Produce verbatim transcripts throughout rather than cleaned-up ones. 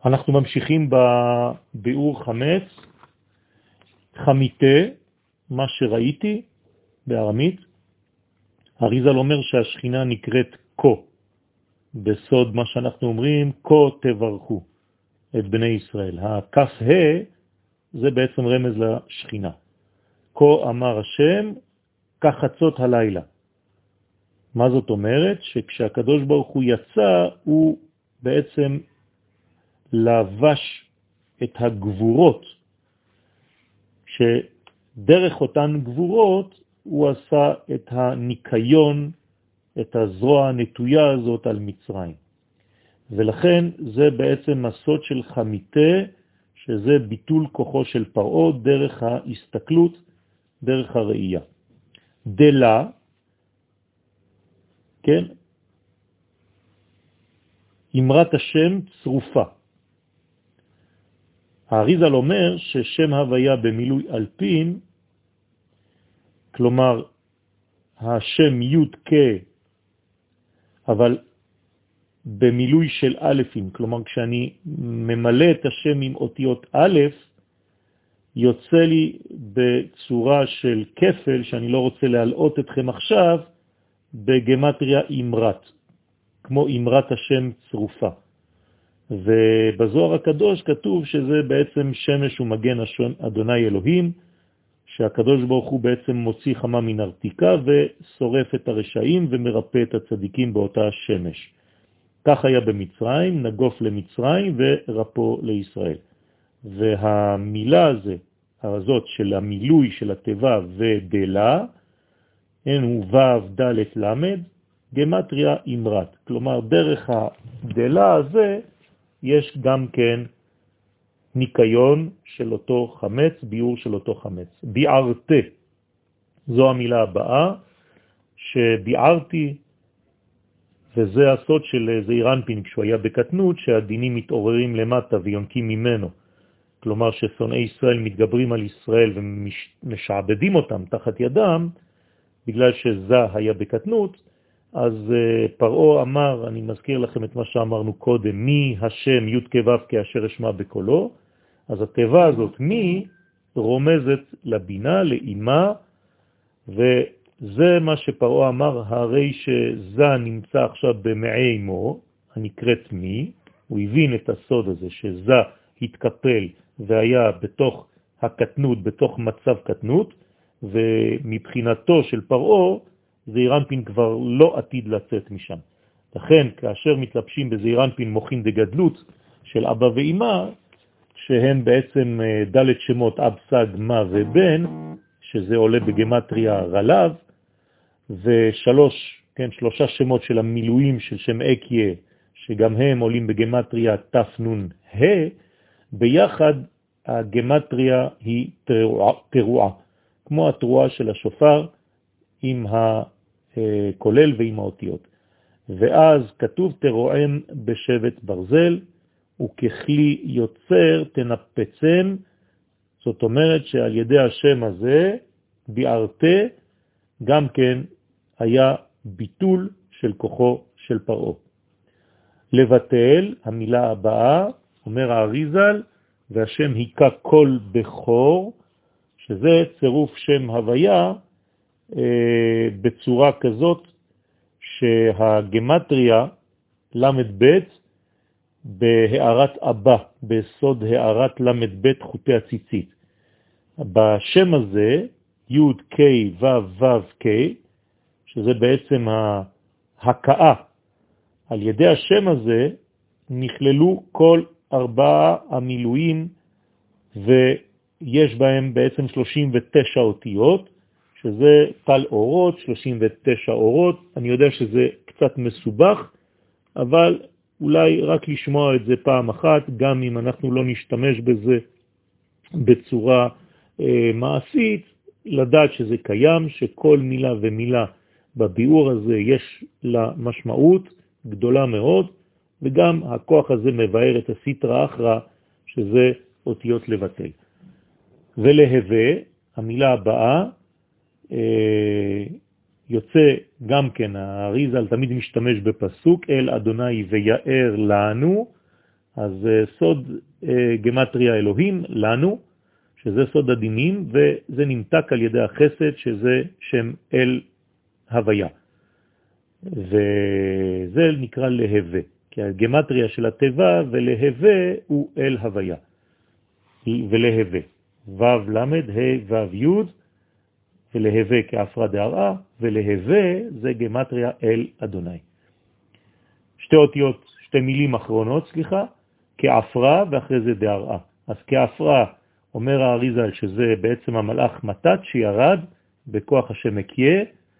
אנחנו ממשיכים בביאור חמץ, חמיתה, מה שראיתי בארמית. אריז"ל אומר שהשכינה נקראת כה, בסוד מה שאנחנו אומרים, כה תברכו את בני ישראל. הכף ה' זה בעצם רמז לשכינה. כה אמר השם, כחצות הלילה. מה זאת אומרת? שכשהקדוש ברוך הוא יצא, הוא בעצם לבש את הגבורות, שדרך אותן גבורות הוא עשה את הניקיון, את הזרוע הנטויה הזאת על מצרים. ולכן זה בעצם הסוד של חמיתה, שזה ביטול כוחו של פרעה דרך ההסתכלות, דרך הראייה. דלה, כן, אמרת השם צרופה. האריז"ל אומר ששם הוויה במילוי אלפין, כלומר השם י' כ', אבל במילוי של אלפים, כלומר כשאני ממלא את השם עם אותיות א', יוצא לי בצורה של כפל, שאני לא רוצה להלאות אתכם עכשיו, בגמטריה אמרת, כמו אמרת השם צרופה. ובזוהר הקדוש כתוב שזה בעצם שמש ומגן אדוני אלוהים, שהקדוש ברוך הוא בעצם מוציא חמה מן ארתיקה ושורף את הרשעים ומרפא את הצדיקים באותה שמש. כך היה במצרים, נגוף למצרים ורפו לישראל. והמילה הזה, הזאת של המילוי של הטבע ודלה, אין הוא ו' ד' למד, גמטריה אמרת. כלומר, דרך הדלה הזה יש גם כן ניקיון של אותו חמץ, ביור של אותו חמץ. ביערתי, זו המילה הבאה, שביערתי, וזה הסוד של זעיר אנפין כשהוא היה בקטנות, שהדינים מתעוררים למטה ויונקים ממנו. כלומר ששונאי ישראל מתגברים על ישראל ומשעבדים אותם תחת ידם, בגלל שזה היה בקטנות, אז פרעה אמר, אני מזכיר לכם את מה שאמרנו קודם, מי השם י' כ' ו' כאשר אשמע בקולו, אז הטבע הזאת מי רומזת לבינה, לאימה, וזה מה שפרעה אמר, הרי שזה נמצא עכשיו במעי אמו, הנקראת מי, הוא הבין את הסוד הזה שזה התקפל והיה בתוך הקטנות, בתוך מצב קטנות, ומבחינתו של פרעה, זעיר אנפין כבר לא עתיד לצאת משם. לכן, כאשר מתלבשים בזעיר אנפין מוחין דגדלות של אבא ואמא, שהם בעצם ד' שמות אב סג מה ובן, שזה עולה בגמטריה רלב, ושלוש, כן, שלושה שמות של המילואים של שם אקיה, שגם הם עולים בגמטריה תפנון ה', ביחד הגמטריה היא תרועה, תרועה, כמו התרועה של השופר עם הכולל ועם האותיות. ואז כתוב תרועם בשבט ברזל, וככלי יוצר תנפצם, זאת אומרת שעל ידי השם הזה, ביערתה, גם כן היה ביטול של כוחו של פרעה. לבטל, המילה הבאה, אומר האריז"ל, והשם היכה כל בכור, שזה צירוף שם הוויה אה, בצורה כזאת שהגמטריה למד ב' בהערת אבא, בסוד הערת למד ב' חוטי הציצית. בשם הזה, י' כ' ו' ו' כ', שזה בעצם ההקאה, על ידי השם הזה נכללו כל ארבעה המילואים, ויש בהם בעצם שלושים ותשע אותיות, שזה טל אורות, שלושים ותשע אורות. אני יודע שזה קצת מסובך, אבל אולי רק לשמוע את זה פעם אחת, גם אם אנחנו לא נשתמש בזה בצורה אה, מעשית, לדעת שזה קיים, שכל מילה ומילה בביאור הזה יש לה משמעות גדולה מאוד, וגם הכוח הזה מבאר את הסתרא אחרא, שזה אותיות לבטל. ולהווה, המילה הבאה, אה, יוצא גם כן, האריז"ל תמיד משתמש בפסוק, אל אדוני ויער לנו, אז סוד גמטריה אלוהים לנו, שזה סוד הדינים, וזה נמתק על ידי החסד, שזה שם אל הוויה. וזה נקרא להווה, כי הגמטריה של הטבע ולהווה הוא אל הוויה. ולהווה. וו למד, ה' וו י', ולהווה כאפרה דהראה, ולהווה זה גמטריה אל אדוני. שתי אותיות, שתי מילים אחרונות, סליחה, כאפרה ואחרי זה דהראה. אז כאפרה אומר האריזל שזה בעצם המלאך מתת שירד בכוח השם מקיה,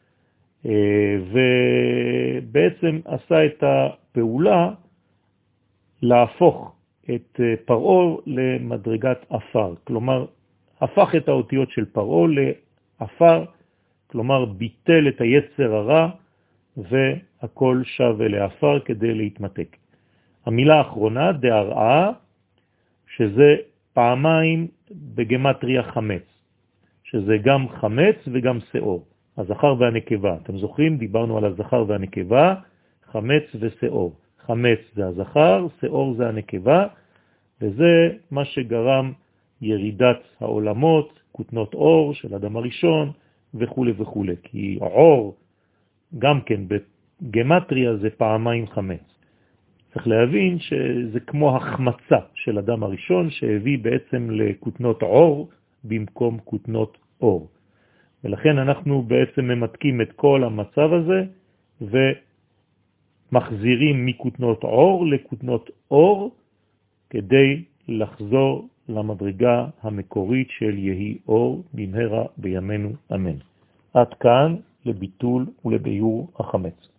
ובעצם עשה את הפעולה להפוך את פרעה למדרגת אפר. כלומר, הפך את האותיות של פרעה לאפר, כלומר ביטל את היצר הרע, והכל שב לאפר כדי להתמתק. המילה האחרונה, דהראה, שזה פעמיים בגמטריה חמץ, שזה גם חמץ וגם שאור. הזכר והנקבה, אתם זוכרים? דיברנו על הזכר והנקבה, חמץ ושאור. חמץ זה הזכר, שאור זה הנקבה, וזה מה שגרם ירידת העולמות, כותנות אור של אדם הראשון וכו' וכו'. כי אור, גם כן בגמטריה זה פעמיים חמץ. צריך להבין שזה כמו החמצה של אדם הראשון שהביא בעצם לכותנות אור במקום כותנות אור. ולכן אנחנו בעצם ממתקים את כל המצב הזה ומחזירים מכותנות אור לכותנות אור כדי לחזור למדרגה המקורית של יהי אור במהרה בימינו אמן. עד כאן לביטול ולביור החמץ.